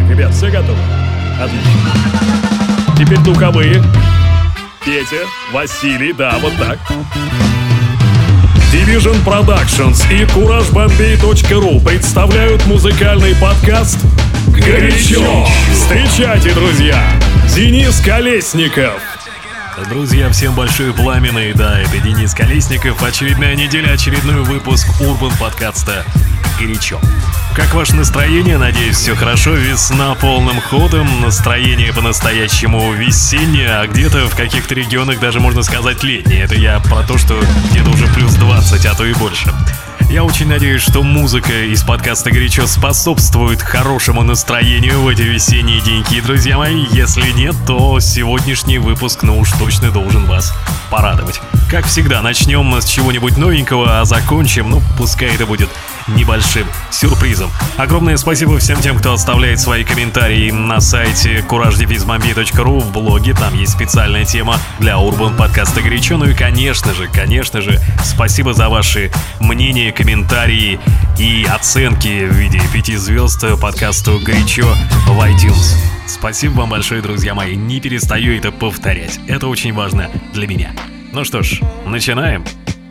Ребят, все готовы? Отлично. Теперь духовые. Петя, Василий, да, вот так. Division Productions и CourageBombay.ru представляют музыкальный подкаст «Горячо». Встречайте, друзья, Денис Колесников. Друзья, всем большое пламя, и да, это Денис Колесников. Очередная неделя, очередной выпуск Urban подкаста «Горячо». Как ваше настроение? Надеюсь, все хорошо. Весна полным ходом, настроение по-настоящему весеннее, а где-то в каких-то регионах даже можно сказать летнее. Это я про то, что где-то уже плюс 20, а то и больше. Я очень надеюсь, что музыка из подкаста «Горячо» способствует хорошему настроению в эти весенние деньки, друзья мои. Если нет, то сегодняшний выпуск, уж точно должен вас порадовать. Как всегда, начнем с чего-нибудь новенького, а закончим, пускай это будет небольшим сюрпризом. Огромное спасибо всем тем, кто оставляет свои комментарии на сайте CourageBombay.ru, в блоге, там есть специальная тема для Urban подкаста «Горячо». Ну и конечно же, спасибо за ваши мнения, комментарии и оценки в виде 5 звезд подкасту «Горячо» в iTunes. Спасибо вам большое, друзья мои, не перестаю это повторять, это очень важно для меня. Ну что ж, начинаем.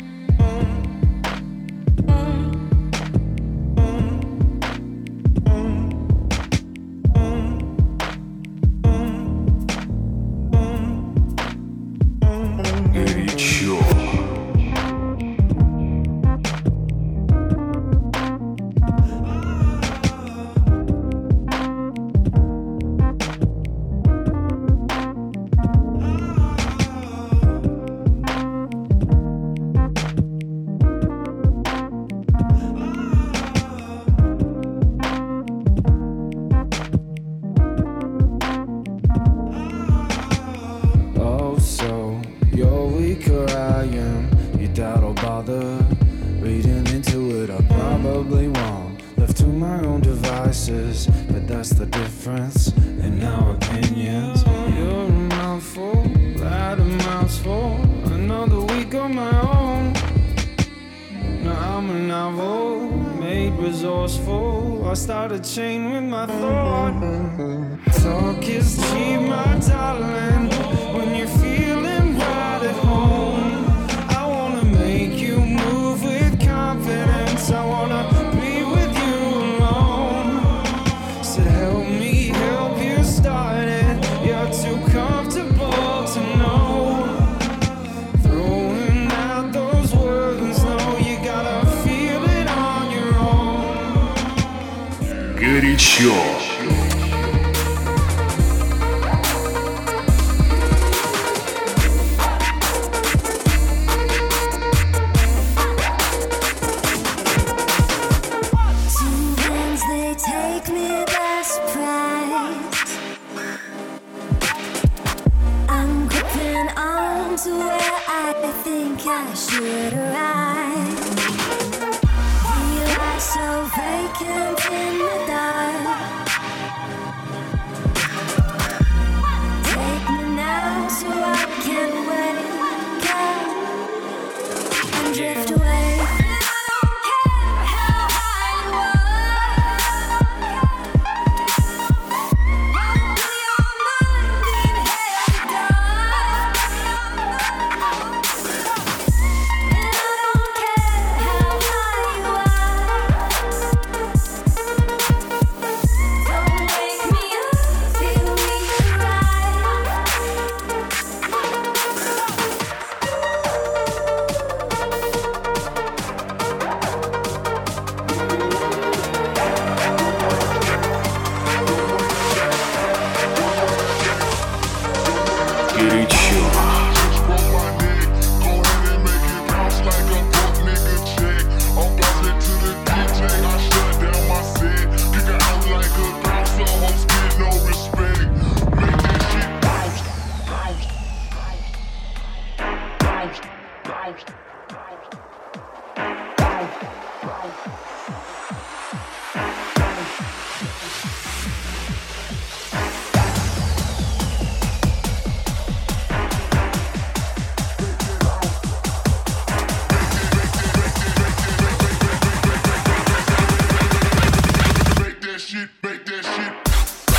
I start a chain with my thought. Talk is cheap, my darling. When you're feeling right at home, I wanna make you move with confidence. I wanna be with you alone. Said help me help you start it. You're too comfortable to know. Throwing out those words, no, you gotta feel it on your own. Горячо.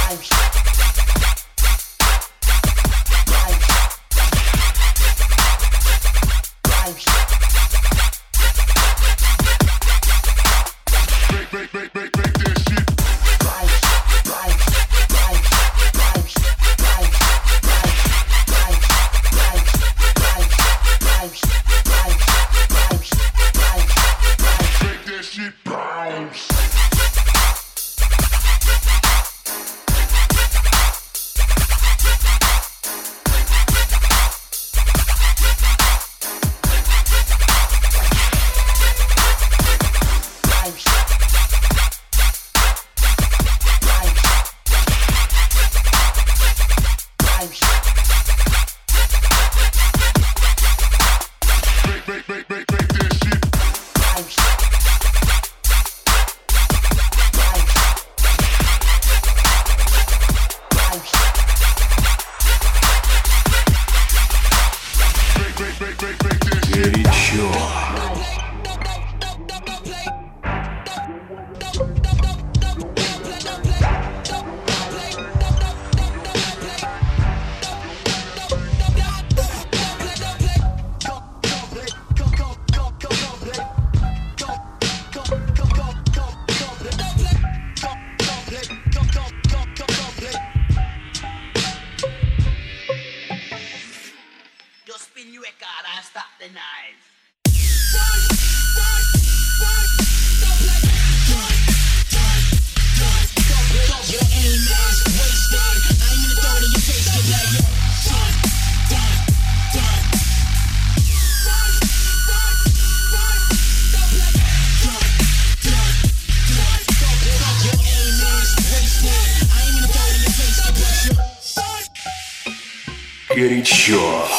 Горячо.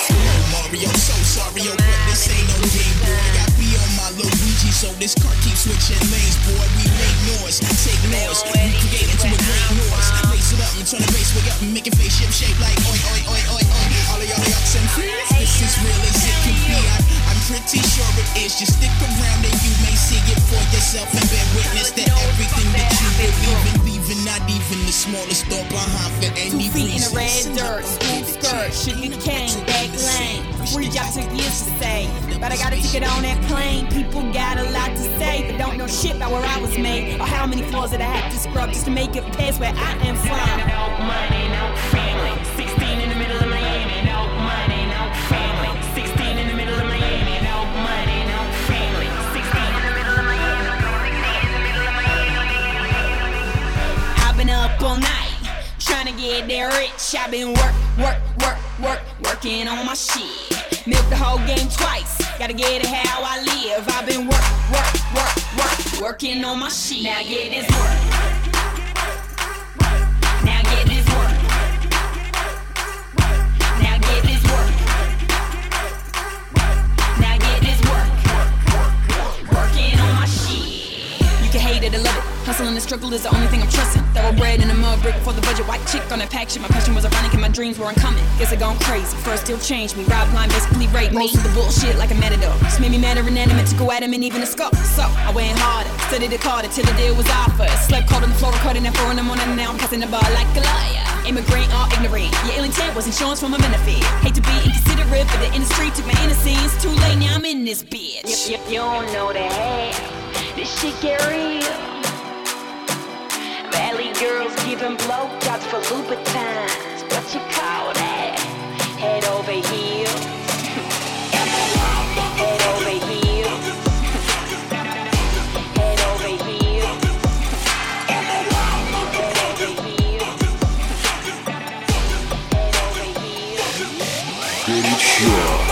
So this car keeps switching lanes, boy. We make noise, take noise, recreate into a great noise. Lace it up and turn the bass way up and make it face shape like oi, oi, oi, oi, oi. All of y'all ups and friends, this is real as it can be. I'm pretty sure it is. Just stick around and you may see it for yourself and bear witness that everything that you believe in, leaving not even the smallest thought behind for any 2 feet in reason. the red dirt, school skirt, sugar cane, back lane. Free job took years to say, but I got a ticket on that plane. People got a lot to say, but don't know shit about where I was made or how many floors that I had to scrub just to make it past where I am from. No money, no family. 16 in the middle of Miami. No money, no family. 16 in the middle of Miami. No money, no family. 16 in the middle of Miami. I've been up all night trying to get there rich. I've been working on my shit. Milk the whole game twice. Gotta get it how I live. I've been working on my shit. Now get this work. Now get this work. Now get this work. Now get this work. Working on my shit. You can hate it or love it. Hustle and the struggle is the only thing I'm trusting. Thoroughbred in a mud brick for the budget. White chick on that pack shit. My passion was ironic and my dreams were uncommon. Guess I gone crazy. First still changed me. Rob blind basically raped me. Most of the bullshit like a matador. Just made me mad or inanimate to go at him and even a scuff. So I went harder. Studied it harder till the deal was offered. Slept cold on the floor recording at 4 in the morning. And now I'm passing the bar like a liar. Immigrant or ignorant. Your ill intent was insurance for my benefit. Hate to be inconsiderate, but the industry took my innocence. Too late now I'm in this bitch. You don't know that this shit get real. Valley girls giving blowjobs for Louboutins. What you call that? Head over heels. Head over heels. Head over heels. Head over heels. Head over heels. Горячо.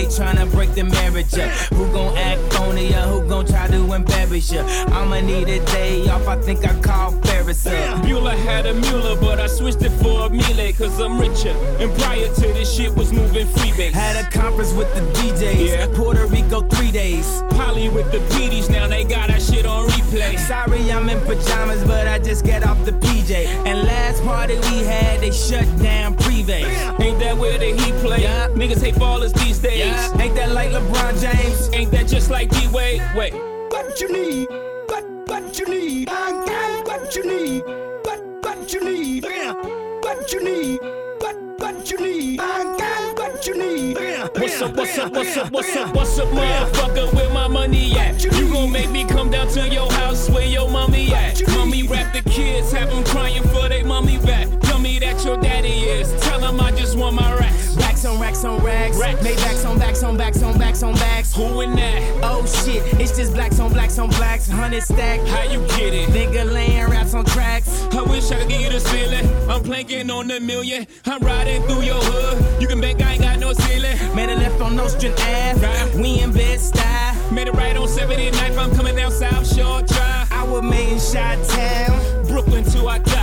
tryna break the marriage up? Who gon' act phony or who gon' try to embarrass you? I'ma need a day off, I think I call Ferris up. Bueller had a Mueller, but I switched it for a Miele, cause I'm richer. And prior to this shit was moving freebase. Had a conference with the DJs, Yeah. Puerto Rico 3 days. Polly with the PDs, now they got that shit on replay. Sorry I'm in pajamas, but I just got off the PJ. And last party we had, they shut down Privé. Ain't that where the Heat play? Yeah. Niggas hate ballers these days. Yeah. Ain't that like LeBron James? Ain't that just like D-Wade? Wait. What you need? What you need? I got what you need. What you need? What you need? What you need? I got what you need. What's up, motherfucker, where my money at? You gon' make me come down to your house where your mommy at? Mommy rap the kids, have them crying for they mommy back. Tell me that your daddy is, tell him I just want my racks. Racks on racks on racks. Maybachs on backs on backs on backs on backs. Who in that? Oh shit, it's just blacks on blacks on blacks. 100 stack. How you get it? Nigga laying raps on tracks. I wish I could give you this feeling. I'm planking on the million. I'm riding through your hood. You can bet I ain't got no ceiling. Made a left on Nostrand Ave. Right. We in Bed-Stuy. Made it right on 79th. I'm coming down South Shore Drive. I was made in Chi-Town. Brooklyn till I die.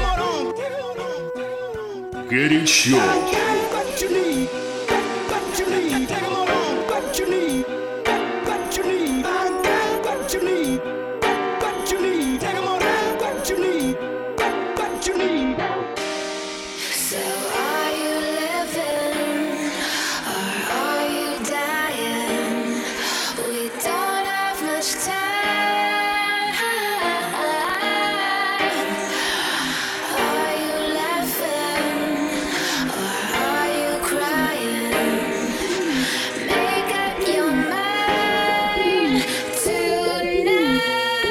Горячо. What you need? What you need? What you need? What you need? I got what you need. What you need? What you need? What you need? So are you living or are you dying? We don't have much time. Are you laughing or are you crying? Make up your mind tonight.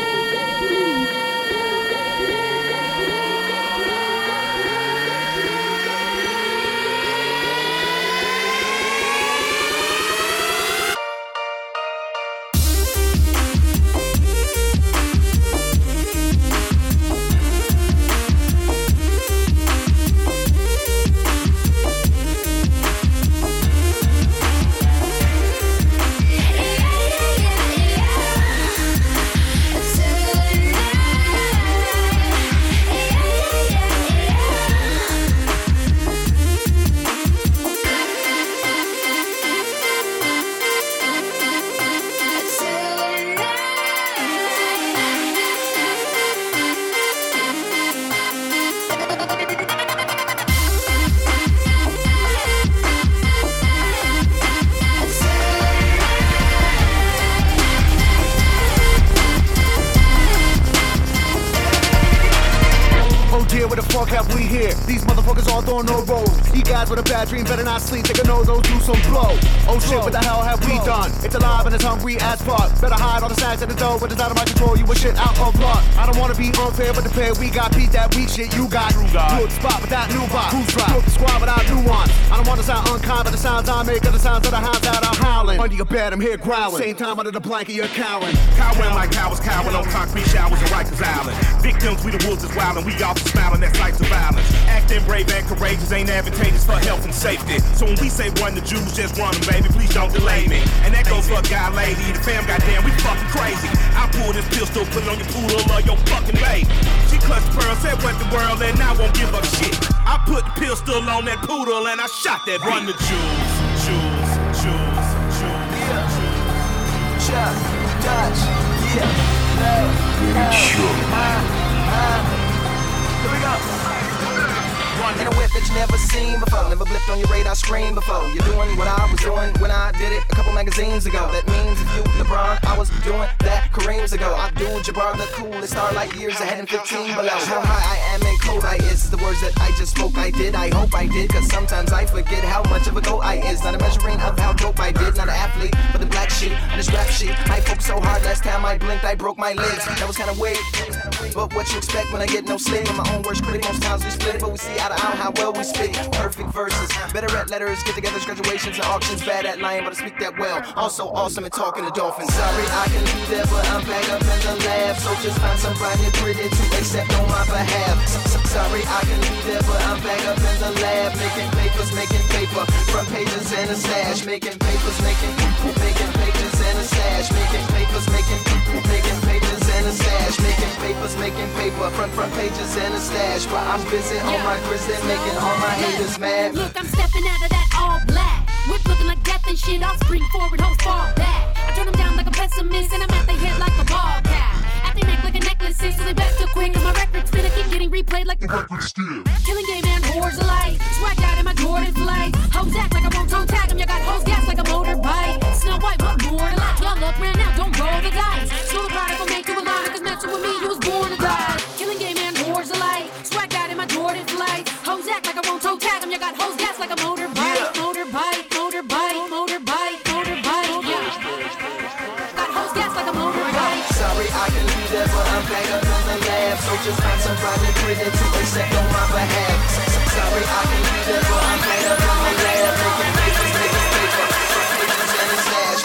Oh dear, where the fuck have we here? These motherfuckers all throwing no rolls. You guys with a bad dream better not sleep. Take a nose, do some blow. Oh shit, what the hell have we done? It's alive and it's hungry as fuck. Better hide all the snacks at the door, but it's out of my control. You a shit out of luck. I don't wanna be unfair, but the pair we got beat that weak shit you got. Good spot without new box. Who's right? Good squad without nuance. I don't wanna sound unkind, but the sounds I make are the sounds of the hounds that are howling. Under your bed, I'm here growling. Same time under the blanket, you're cowering. Cowering like cowards, cowering on concrete showers in Rikers Island. Victims, we the wolves is wild and we all smiling, that's lights of violence. Acting brave and courageous ain't advantageous for health and safety. So when we say run the Jews, just run them, baby, please don't delay me. And that goes for a guy, lady, the fam, goddamn, we fucking crazy. I pull this pistol, put it on your poodle or your fucking baby. She clutched the pearl, said what the world, and I won't give up shit. I put the pistol on that poodle and I shot that run the Jews. Chuck, Dutch, yeah, Горячо. Here we go. In a whip that you never seen before, never blipped on your radar screen before. You're doing what I was doing when I did it a couple magazines ago. That means if you LeBron, I was doing that Kareem's ago. I do Jabbar the coolest star like years ahead and 15 below. How high I am and cold I is the words that I just spoke. I did, I hope I did, cause sometimes I forget how much of a goat I is. Not a measuring of how dope I did, not an athlete, but the black sheep on this rap sheet. I focused so hard last time I might blinked, I broke my legs. That was kinda weird. But what you expect when I get no sleep? I'm my own worst critic, most times we split it, but we see eye to eye how well we spit. Perfect verses, better at letters, get-togethers, graduations, and auctions. Bad at lying, but I speak that well. Also awesome at talking to dolphins. Sorry, I can be there, but I'm back up in the lab. So just find somebody pretty to accept on my behalf. Sorry, I can be there, but I'm back up in the lab. Making papers, making paper, front pages and a stash. Making papers, making pages and a stash. Making papers, making pages and a stash. Making papers, making paper, front pages and a stash. But I'm busy on my grizzly, making all my haters mad. Look, I'm stepping out of that all black. Whip looking like death and shit. I'll spring forward, hoes fall back. I turn them down like a pessimist, and I'm at their head like a ball cap. At their neck like a necklace, so they back too quick. And my record's finna keep getting replayed like the record still. Killing game and whores alike. Swag out in my Jordan flight. Hoes act like I won't toe tag them. You got hoes gas like a motorbike. Snow White, what more to like? Y'all look ran out, don't roll the dice. Slow the product will make you a lot, cause messing with me, you was born to die. Killing game and whores alike. Swag out in my Jordan flight. Hoes act like I won't toe tag them. You got hoes gas like a motorbike. Motorbike. Sorry, I can be there, but I'm back up in the lab. So just find somebody pretty to accept on my behalf. Sorry, I can be there, but I'm back up in the lab. Making papers, and a stash,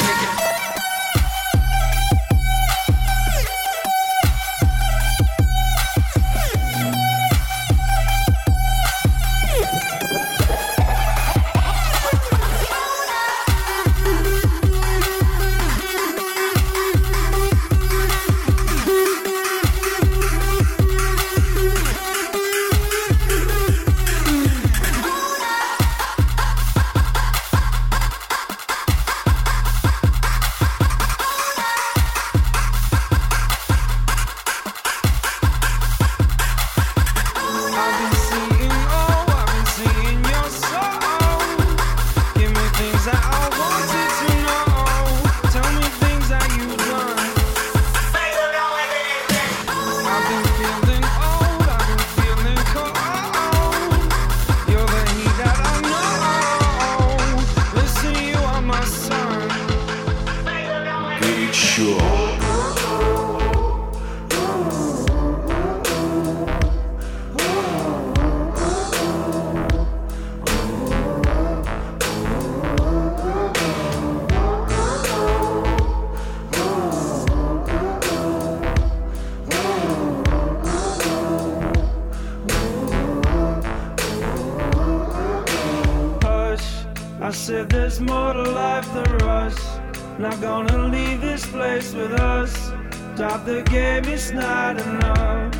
I said there's more to life than rush. Not gonna leave this place with us. Stop the game, it's not enough.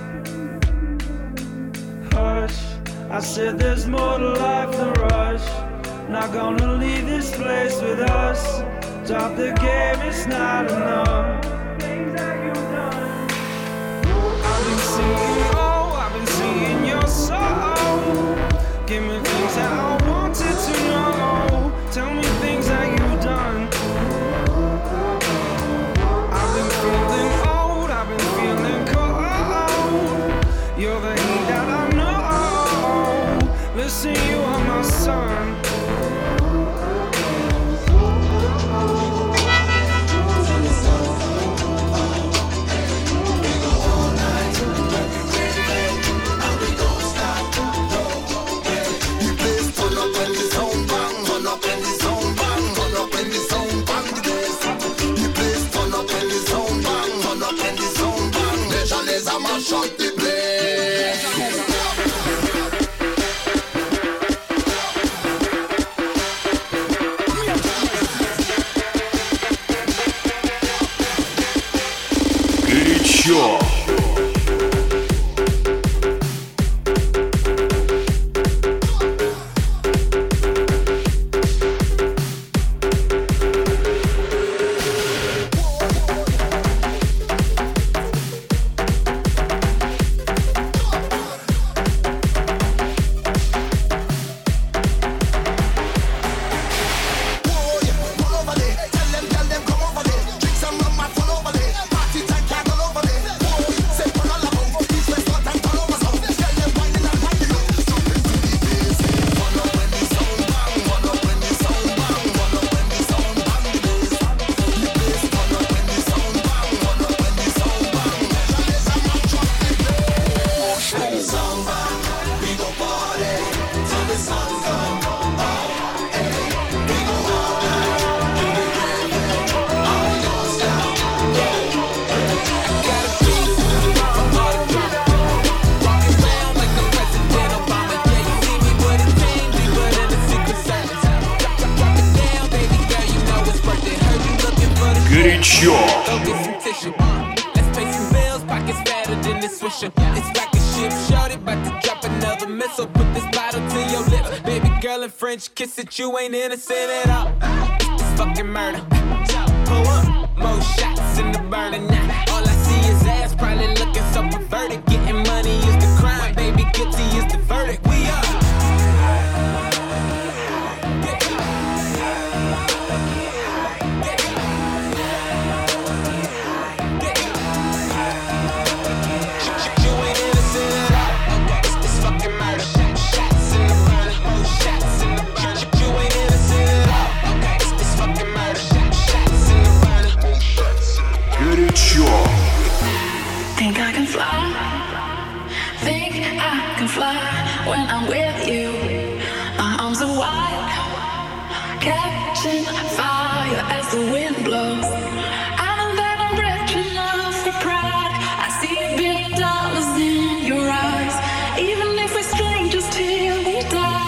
Hush, I said there's more to life than rush. Not gonna leave this place with us. Stop the game, it's not enough. I've been seeing, I've been seeing your soul. Give me things that I wanted to know. Tell me things that you've done. I've been feeling old, I've been feeling cold. You're the heat that I know. Listen, you are my son. Shut the place. Горячо. Tell them, come over there. Drink some rum, my full over there. Party time, can't go over there. Горячо. Go get some tissue. Let's pay some bills, pockets fatter than this swisher. It's like a ship, shorty, about to drop another missile. Put this bottle to your lips, baby girl, in French kiss it. You ain't innocent at all. It's fucking murder. Pull up, more shots in the burner now. All I see is ass, probably looking so perverted. Getting money is the crime, baby, guilty is the verdict. We up. Think I can fly, think I can fly when I'm with you. My arms are wide, catching fire as the wind blows. I know that I'm rich enough for pride. I see $1 billion in your eyes, even if we're strangers till we die.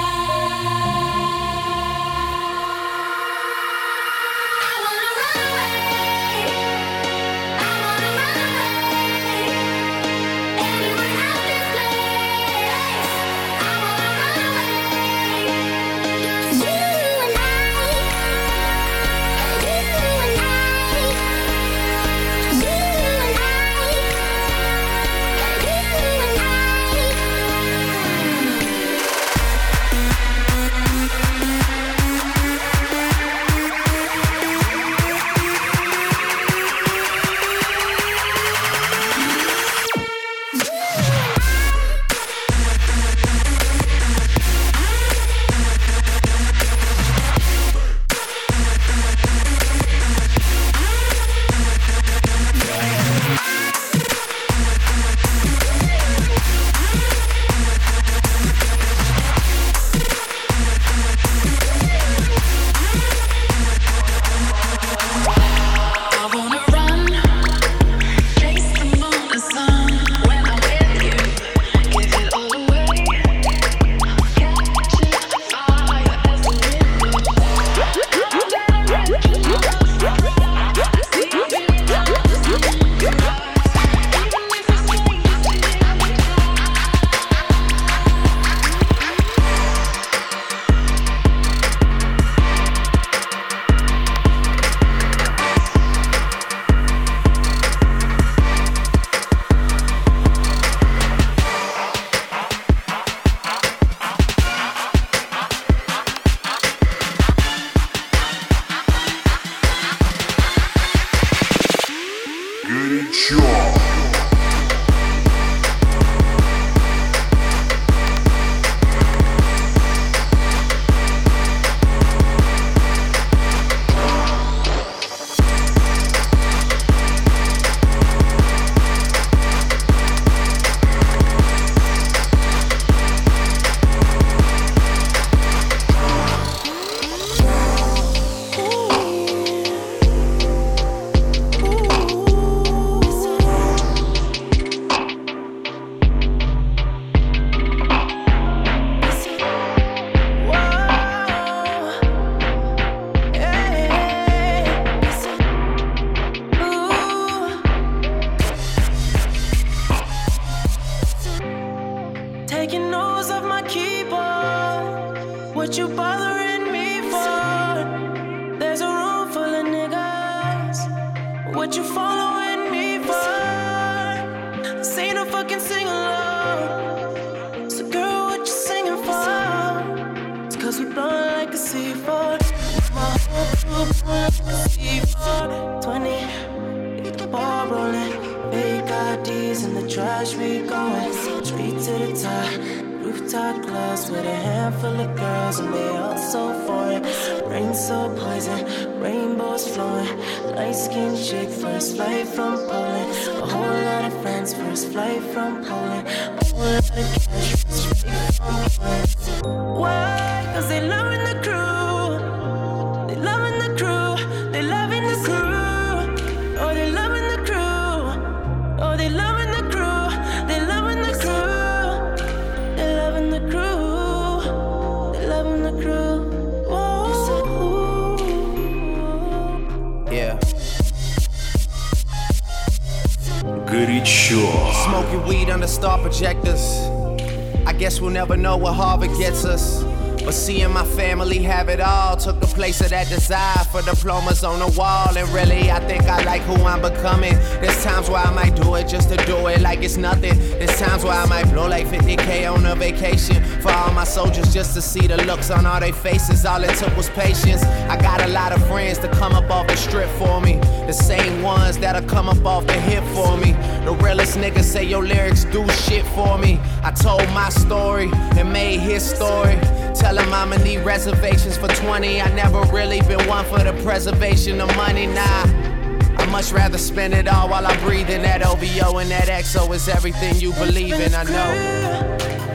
What you bothering me for? There's a room full of niggas. What you following me for? This ain't no fucking sing along. So girl, what you singing for? It's cause we blowin' like a C4. My whole crew blowin' like a C4. 20, get the ball rolling. Fake IDs in the trash, we going straight to the top. Rooftop clubs with a handful of girls and they all so foreign. Rain so poison, rainbows flowing. Light-skinned chick, first flight from Poland. A whole lot of friends, first flight from Poland. A whole lot of cash, first flight from Poland. Why? Cause they loving the crew. They loving the crew. They loving the crew. Oh, they loving the crew. Oh, they loving the crew. They loving the crew. They loving the crew. They loving the crew. Whoa. Yeah. Горячо. Smoking weed under star projectors. I guess we'll never know what Harvard gets us. But seeing my family have it all took the place of that desire for diplomas on the wall. And really, I think I like who I'm becoming. There's times where I might do it just to do it like it's nothing. There's times where I might blow like 50K on a vacation for all my soldiers just to see the looks on all their faces. All it took was patience. I got a lot of friends to come up off the strip for me. The same ones that'll come up off the hip for me. The realest niggas say your lyrics do shit for me. I told my story and made his story. Tell him I'ma need reservations for 20. I never really been one for the preservation of money, nah. I'd much rather spend it all while I'm breathing. That OVO and that XO is everything you believe in, I know.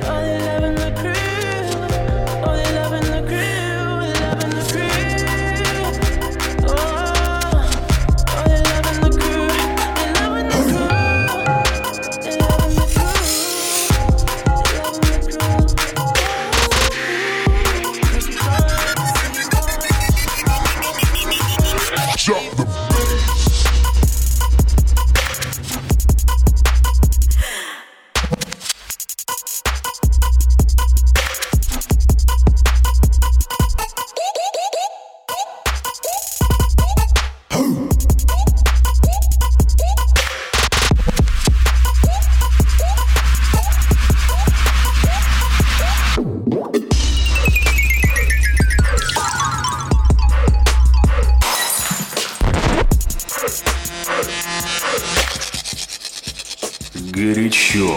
Горячо.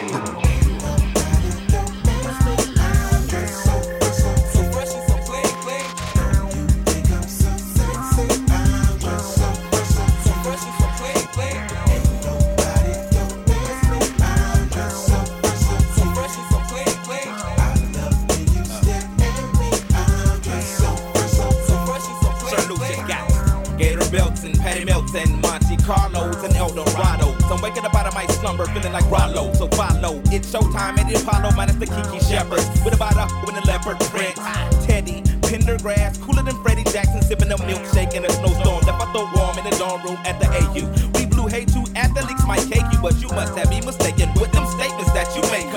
Gator belts and Patty Melts and Monte Carlos and Eldorado. I'm waking up out of my slumber feeling like Rollo. So follow, it's showtime at the Apollo minus the Kiki Shepherds. With a bottle with a leopard print. Teddy, Pendergrass, cooler than Freddie Jackson, sipping a milkshake in a snowstorm. Left out the warm in the dorm room at the AU. We blew hay to athletes might cake you, but you must have me mistaken with them statements that you make,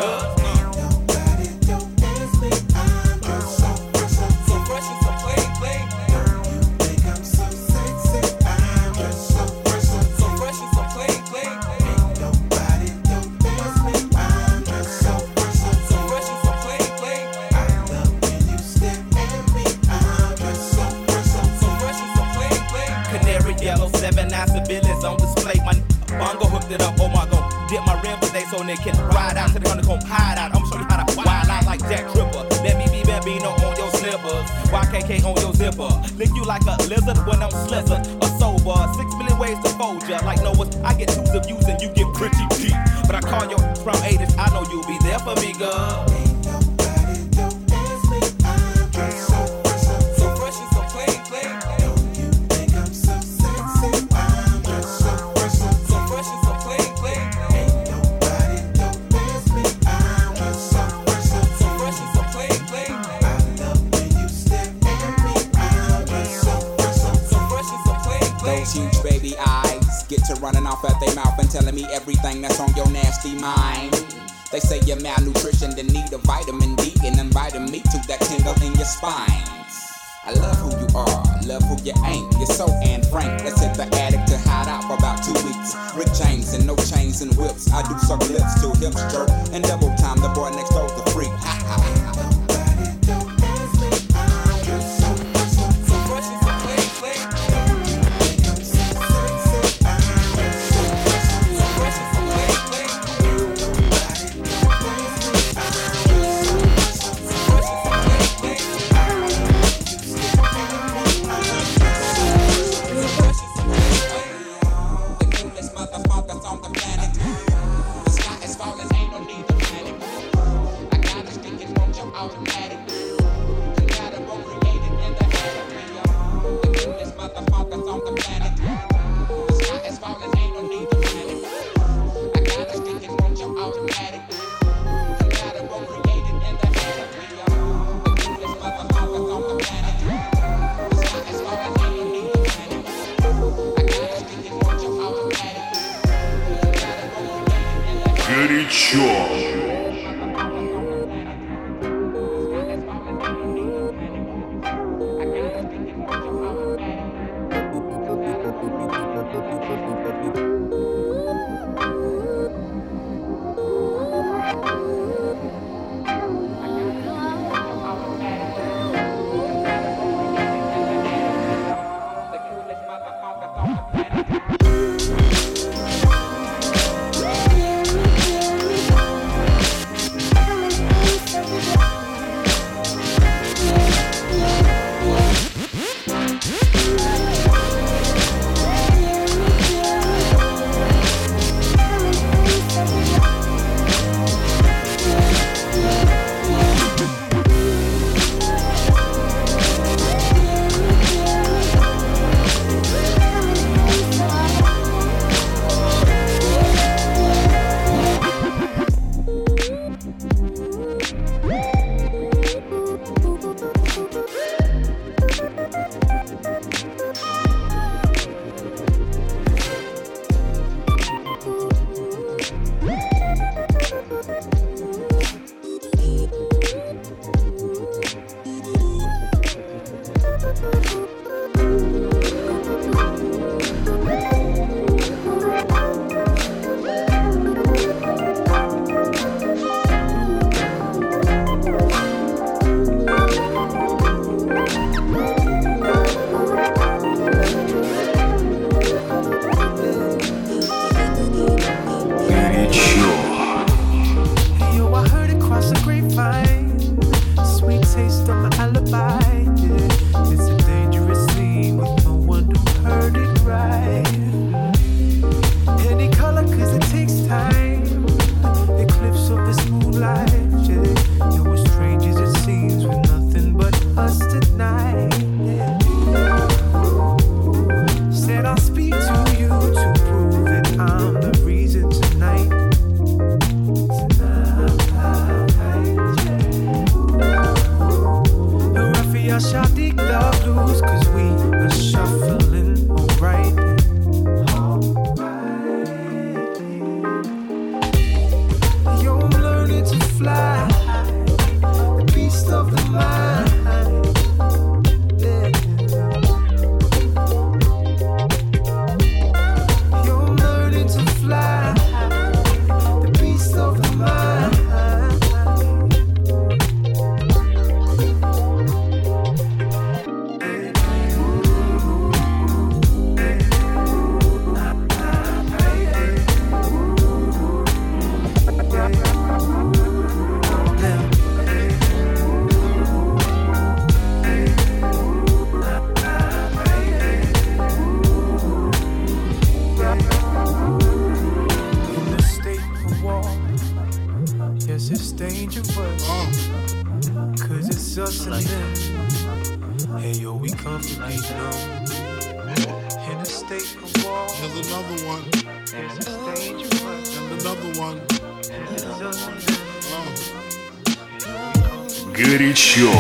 civilians on display. My bongo hooked it up. Oh my god, dip my rim today so they can ride out to the honeycomb hide out. I'm show you how to wild out like Jack Tripper. Let me be Bambino on your slippers. YKK on your zipper. Lick you like a lizard when I'm slizzard or sober. 6 million ways to fold ya. Like Noah's, I get twos of views and you get pretty cheap. But I call your from 80s. I know you'll be there for me, girl. Huge baby eyes get to running off at their mouth and telling me everything that's on your nasty mind. They say you're malnutrition, then need a vitamin D and inviting me to that tingle in your spine. I love who you are, love who you ain't. You're so Anne Frank. Let's hit the attic to hide out for about 2 weeks. Rick James and no chains and whips. I do suck lips till hips jerk and double time. The boy next door's the freak. Ha ha ha. Motherfuckers on the planet. The sky is falling, ain't no need to panic. Горячо. Горячо.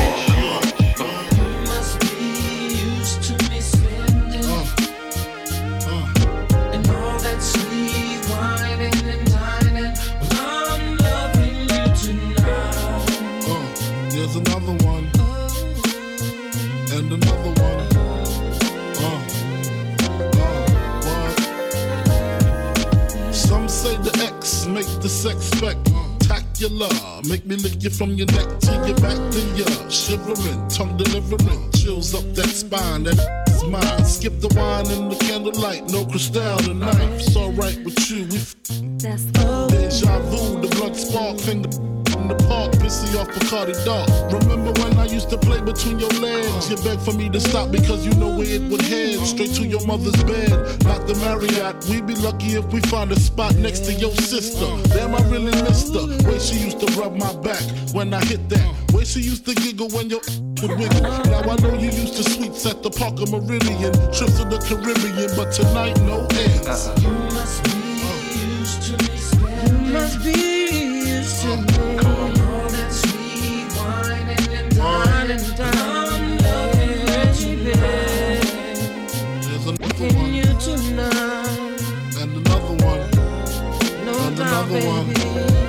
Make me lick you from your neck to your back, then you're shivering, tongue delivering, chills up that spine, that's mine. Skip the wine and the candlelight, no crystal tonight. It's alright with you, that's deja vu, the blood spark, finger in the park, pissy off Bacardi Dark. Remember when I used to play between your legs? You begged for me to stop because you know where it would head, straight to your mother's bed, not the Marriott. We'd be lucky if we find a spot next to your sister. Damn, I really missed her. Way she used to rub my back when I hit that. Way she used to giggle when your would wiggle. Now I know you used to sweets at the Parker Meridian, trips to the Caribbean, but tonight no ends. You must be used to me. You must be used to me. All that sweet wine and dine and dine, loving you, baby. Taking you tonight. And another one. No and doubt, another baby. one.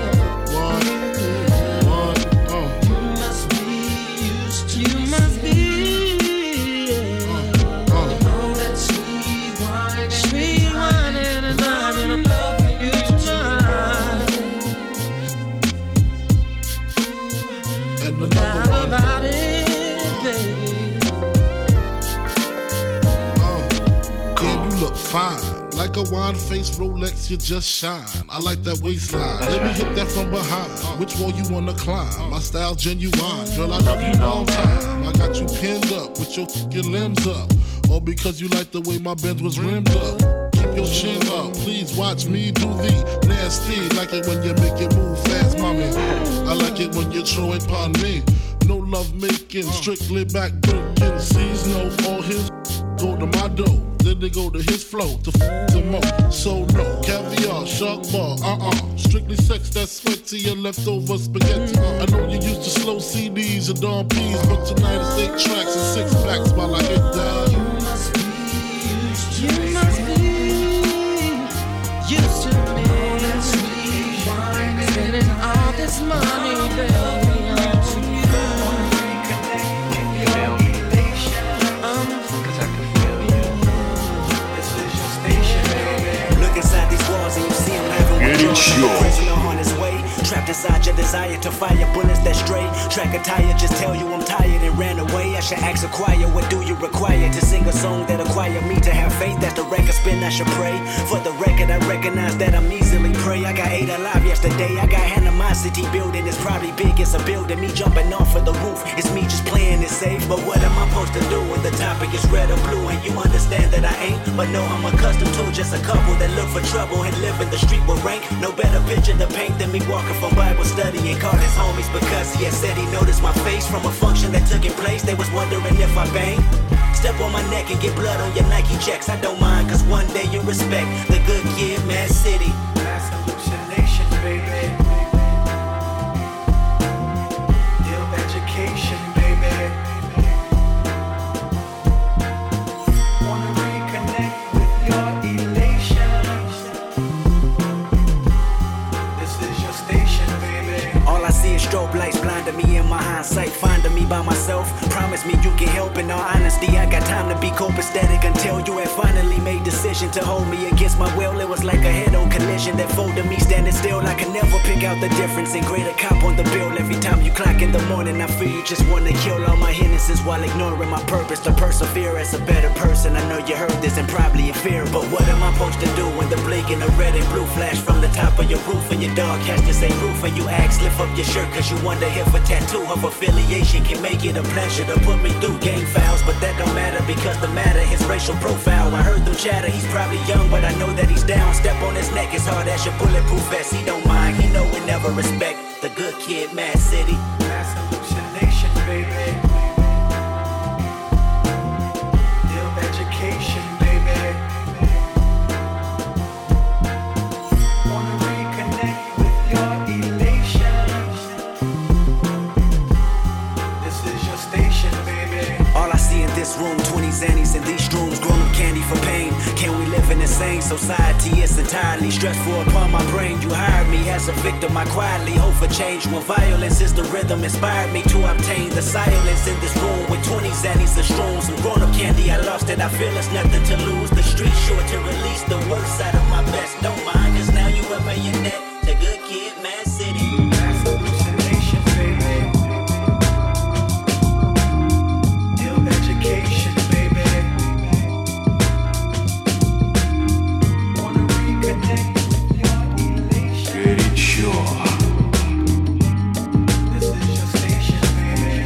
look fine. Like a wine-faced Rolex, you just shine. I like that waistline. Let me hit that from behind. Which wall you wanna climb? My style genuine. Girl, I love you long time. I got you pinned up with your fucking limbs up. All because you like the way my Benz was rimmed up. Keep your chin up. Please watch me do the nasty. Like it when you make it move fast, mommy. I like it when you throw it upon me. No love making, strictly back breaking. Sees no all his go to my dough. Then they go to his flow to them up. So no, caviar, shark bar, strictly sex, that's sweat to your leftover spaghetti. I know you used to slow CDs and Dawn P's, but tonight it's 8 tracks and 6 packs while I get down. You must be used to me. Spending all this money, baby. On his way, trapped inside your desire to fire bullets that stray. Track a tire, just tell you I'm tired and ran away. I should ask a choir, what do you require to sing a song that acquire me to have faith? That's the record spin, I should pray. For the record, I recognize that I'm easily prey. I got 8 alive yesterday, I got animosity building. It's probably big, it's a building. Me jumping off of the roof, it's me just playing it safe. But what am I supposed to do when the topic is red or blue? And you understand that I ain't, but no, I'm accustomed to just a couple that look for trouble and live in the street with rank. No better picture to paint than me walking from Bible study and called his homies because he had said he noticed my face from a function that took in place. They was wondering if I banged. Step on my neck and get blood on your Nike checks. I don't mind, cause one day you respect the good kid, Mad City. Mass hallucination, baby. Ill education, baby. Wanna reconnect with your elations. This is your station, baby. All I see is strobe lights blinding me in my hindsight, finding me by myself. Promise me you can help. In all honesty, I got time to be copacetic until you had finally made decision to hold me against my will. It was like a head-on collision that folded me standing still. I can never pick out the difference in greater cop on the bill. Every time you clock in the morning, I feel you just wanna kill all my hindrances while ignoring my purpose to persevere as a better person. I know you heard this and probably in fear, but what am I supposed to do when the blinking of red and blue flash from the top of your roof and your dog has the same roof and you ask lift up your shirt cause you wonder if a tattoo of affiliation can make it a pleasure to put me through gang files, but that don't matter because the matter his racial profile. I heard them chatter, he's probably young, but I know that he's down. Step on his neck as hard as your bulletproof vest. He don't mind, he know we never respect the good kid, Mad City. Mass hallucination, baby. Ill education, baby. Wanna reconnect with your elations. This is your station, baby. All I see in this room, 20 Xannies in these rooms, grown up candy for pain. Can we live in the same society? It's entirely stressful upon my brain. You hired me as a victim, I quietly hope for change. When violence is the rhythm, inspired me to obtain the silence in this room with 20 Xannies and shrooms. Some grown up candy, I lost it, I feel it's nothing to lose. The street short to release the worst side of my best. Don't mind, cause now you a marionette. The good kid, Mad City. Mass hallucination, baby. Ill education, baby. Wanna reconnect with your elation. Горячо. This is your station, baby.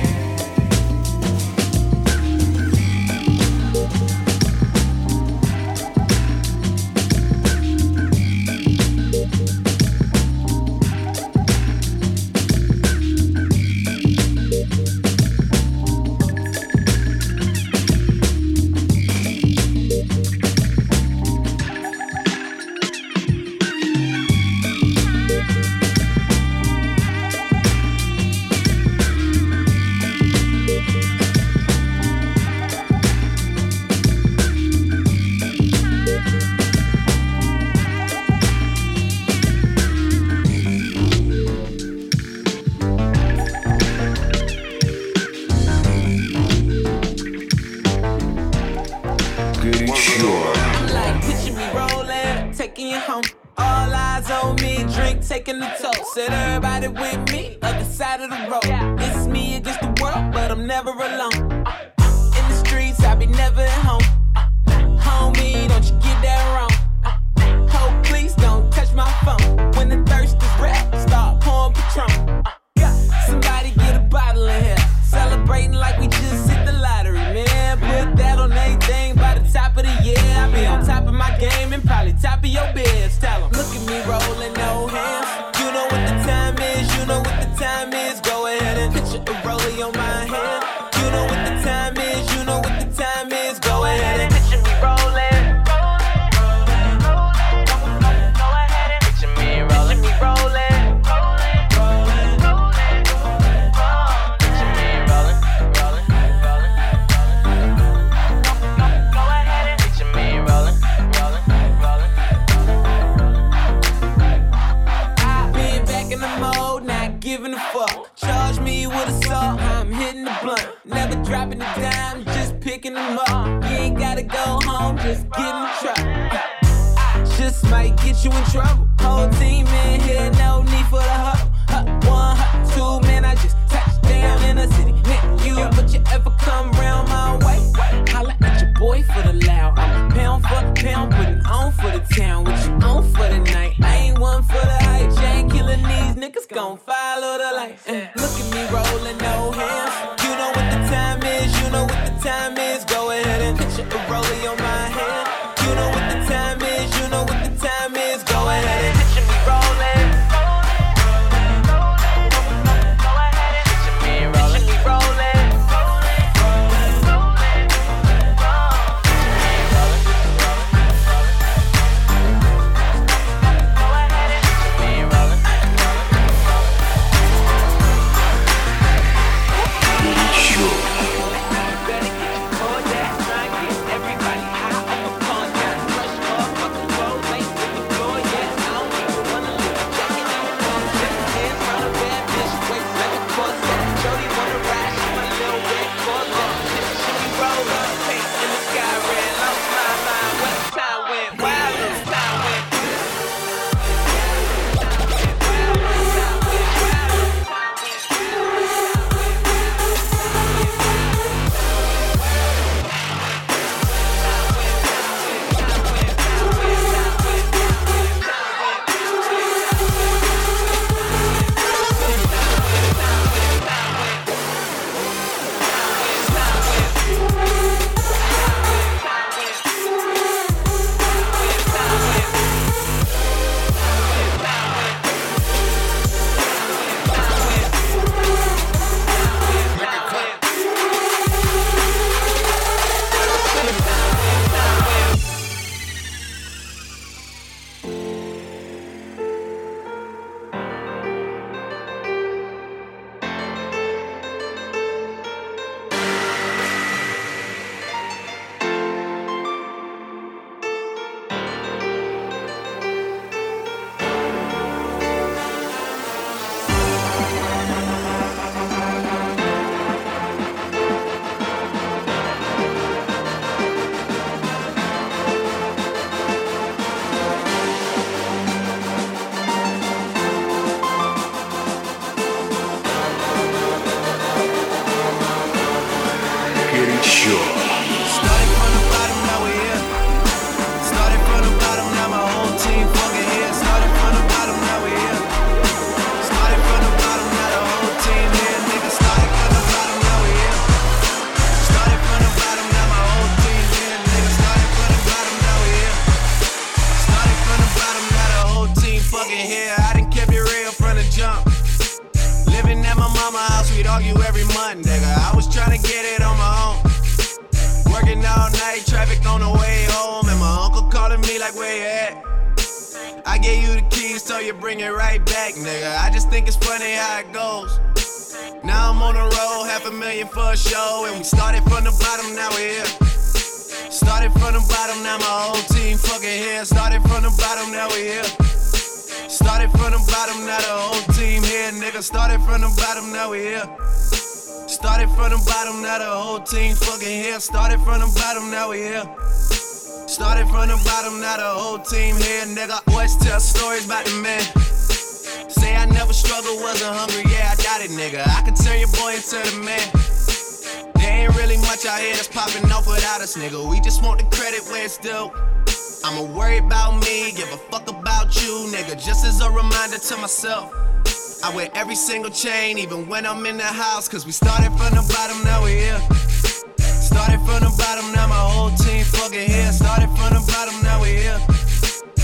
Like picture me rolling, taking you home. All eyes on me, drink, taking the toast. Said everybody with me, other side of the road. It's me against the world, but I'm never alone. In the streets, I be never at home. Homie, don't you give top of your beds. Tell 'em. Look at me rolling, no hands. You know what the time is, you know what the time is. Go ahead and picture a rollie on my hand. You know what the time is, you know what the time is. Go ahead and picture me rolling. Go ahead and picture me rolling, me rolling. Picture me rolling, rolling, rolling. Go ahead and picture me rolling, rolling, rolling. Being back in the mode, not giving a fuck. Charge me with assault, I'm hitting the blunt. Never dropping a dime, just picking them up. You ain't gotta go home, just get in the truck. Just might get you in trouble. Whole team in here, no need for the hustle. Hut one, hut two, man, I just touched down in the city. Nick, you, but you ever come round my way? Holla at your boy for the loud. I'm pound for pound, putting on for the town. What you on for the night? I ain't one for the hype. Jane killing these niggas gon' follow the light. Look at me rolling, no hands. You know what the time is, you know what the time is. Go ahead and picture a rollie on my hand. You know what the time is, you know what the time is. Go ahead and picture me rolling. Go ahead and picture me rolling, me rolling. Started from the bottom, now the whole team fucking here. Started from the bottom, now we here. Started from the bottom, now the whole team here. Nigga, always tell stories about the man. Say I never struggled, wasn't hungry, yeah, I doubt it, nigga. I could turn your boy into the man. There ain't really much out here that's popping off without us, nigga. We just want the credit where it's due. I'ma worry about me, give a fuck about you, nigga. Just as a reminder to myself, I wear every single chain, even when I'm in the house. Cause we started from the bottom, now we here. Started from the bottom, now my whole team fucking here. Started from the bottom, now we here.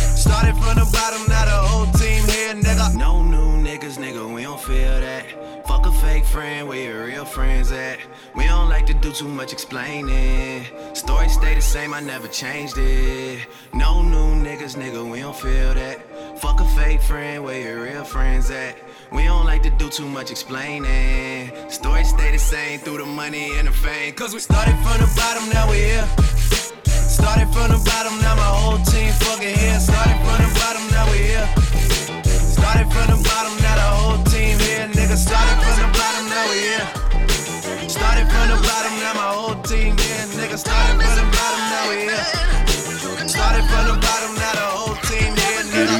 friend, where your real friends at? We don't like to do too much explaining. Story stay the same, I never changed it. No new niggas, nigga, we don't feel that. Fuck a fake friend, where your real friends at? We don't like to do too much explaining. Story stay the same through the money and the fame. Cause we started from the bottom, now we here. Started from the bottom, now my whole team fucking here. Started from the bottom, now we here. Started from the bottom, now the whole team here. Nigga, started from the bottom, now we here. Started from the bottom, now my whole team here. Nigga, started from the bottom, now we here. Started from the bottom, now the whole team here. Nigga.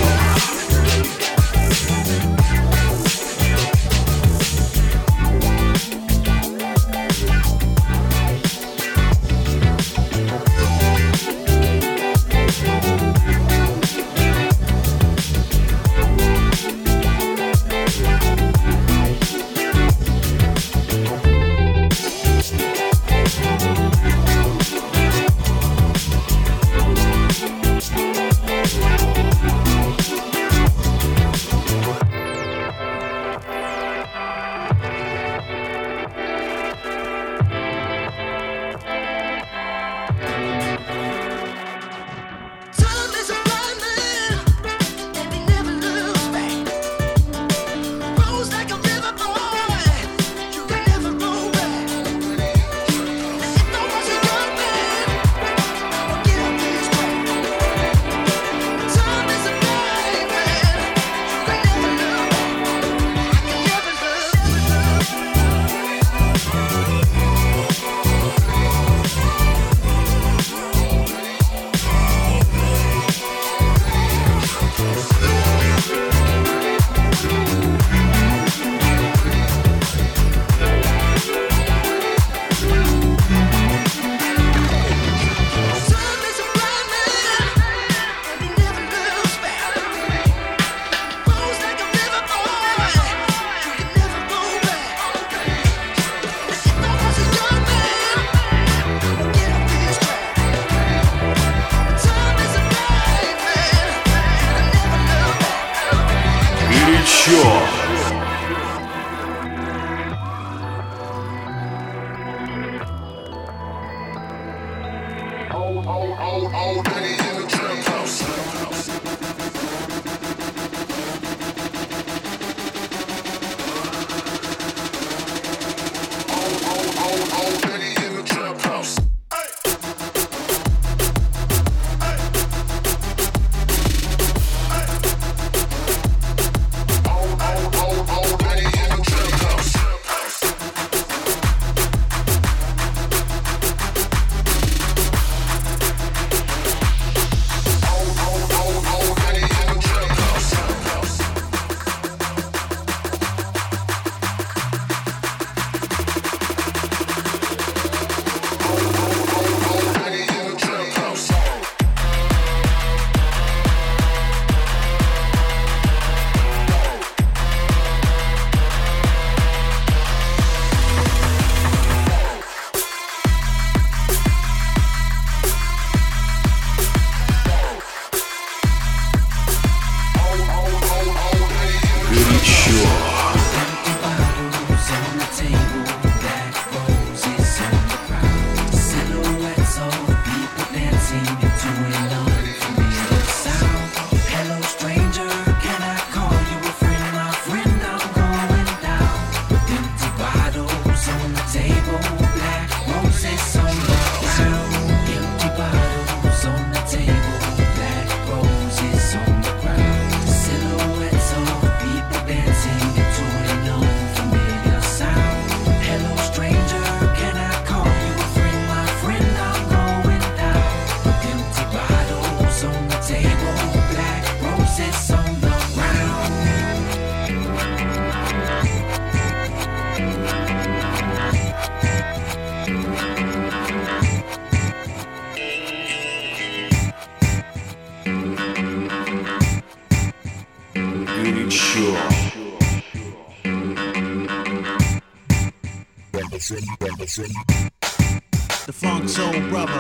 The Funk Soul Brother.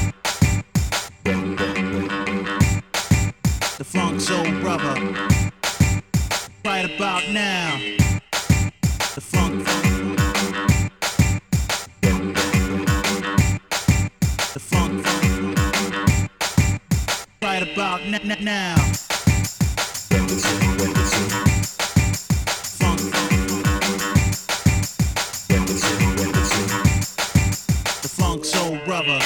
The Funk Soul Brother. Right about now. The Funk right about now. The Funk Soul Brother.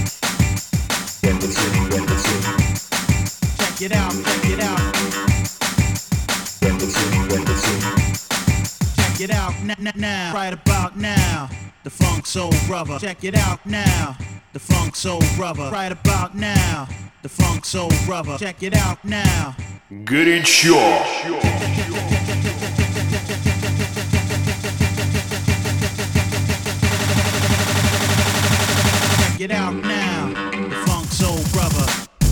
Check it out, check it out. Check it out now, right about now. The Funk Soul Brother. Check it out now. The Funk Soul Brother. Right about now. The Funk Soul Brother. Check it out now. Горячо. Check it out now. The Funk Soul Brother.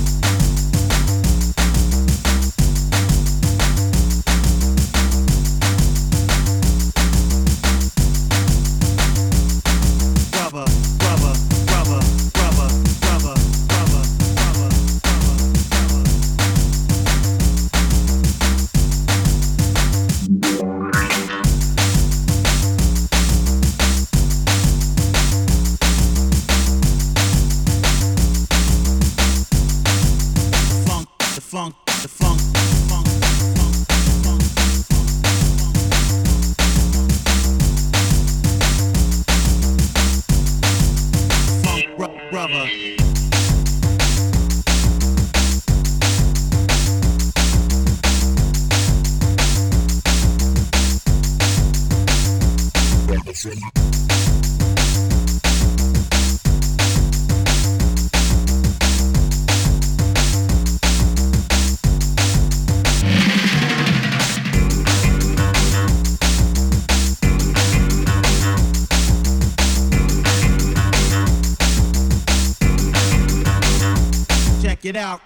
Check it out.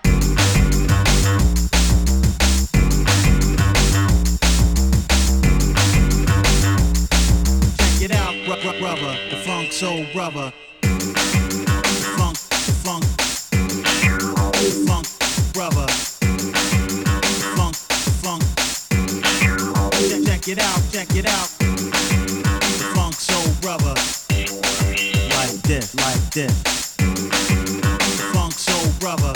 Check it out, brother. The Funk Soul Brother. The funk brother. The funk. Check it out, check it out. The Funk Soul Brother. Like this, like this. The Funk Soul Brother.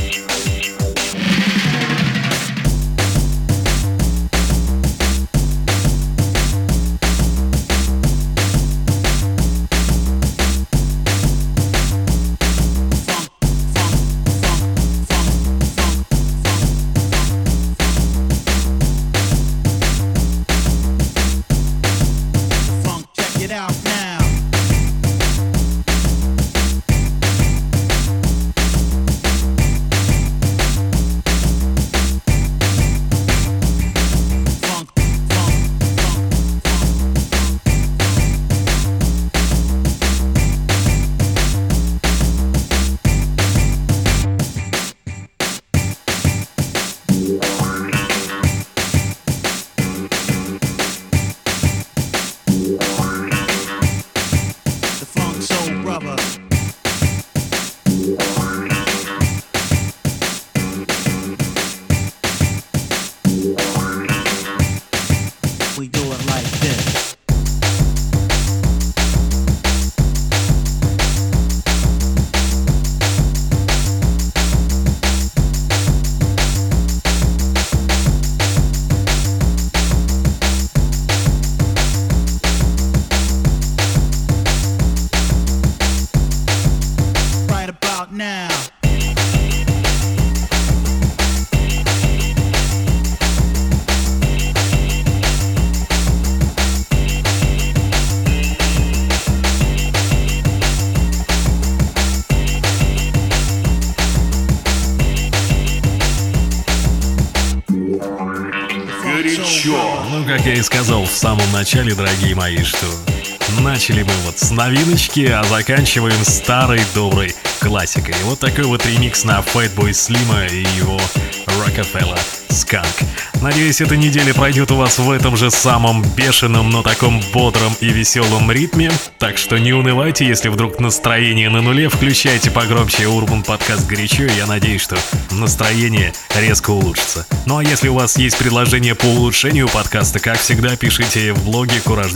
Ну, как я и сказал в самом начале, дорогие мои, что начали мы вот с новиночки, а заканчиваем старой доброй классикой. И вот такой вот ремикс на Fatboy Slim и его Rockefeller Skunk. Надеюсь, эта неделя пройдет у вас в этом же самом бешеном, но таком бодром и веселом ритме. Так что не унывайте, если вдруг настроение на нуле, включайте погромче Urban подкаст «Горячо», и я надеюсь, что настроение резко улучшится. Ну а если у вас есть предложение по улучшению подкаста, как всегда, пишите в блоге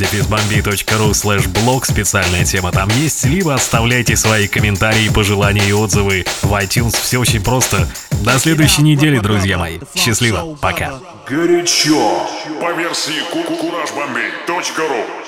couragedefizbombay.ru/блог, специальная тема там есть, либо оставляйте свои комментарии, пожелания и отзывы в iTunes. Все очень просто. До следующей недели, друзья мои. Счастливо. Пока. Горячо. По версии kurajbombay.ru.